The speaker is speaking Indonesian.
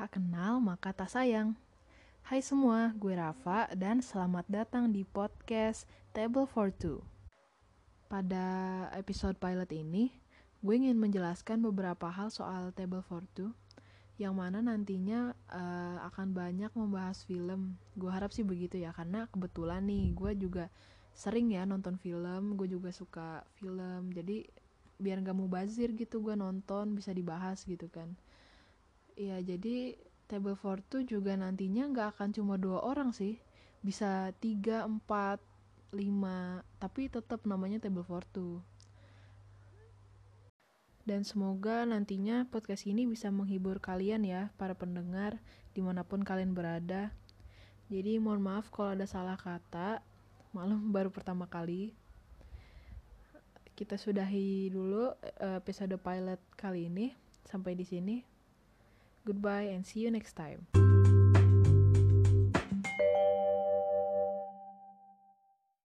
Tak kenal maka tak sayang. Hai semua, gue Rafa dan selamat datang di podcast Table for Two. Pada episode pilot ini, gue ingin menjelaskan beberapa hal soal Table for Two yang mana nantinya akan banyak membahas film. Gue harap sih begitu ya, karena kebetulan nih gue juga sering ya nonton film, gue juga suka film, jadi biar gak mubazir gitu gue nonton, bisa dibahas gitu kan. Ya jadi Table for Two juga nantinya gak akan cuma 2 orang sih, bisa 3, 4, 5, tapi tetap namanya Table for Two. Dan semoga nantinya podcast ini bisa menghibur kalian ya, para pendengar, dimanapun kalian berada. Jadi mohon maaf kalau ada salah kata, maklum baru pertama kali. Kita sudahi dulu episode pilot kali ini. Sampai di sini. Goodbye and see you next time.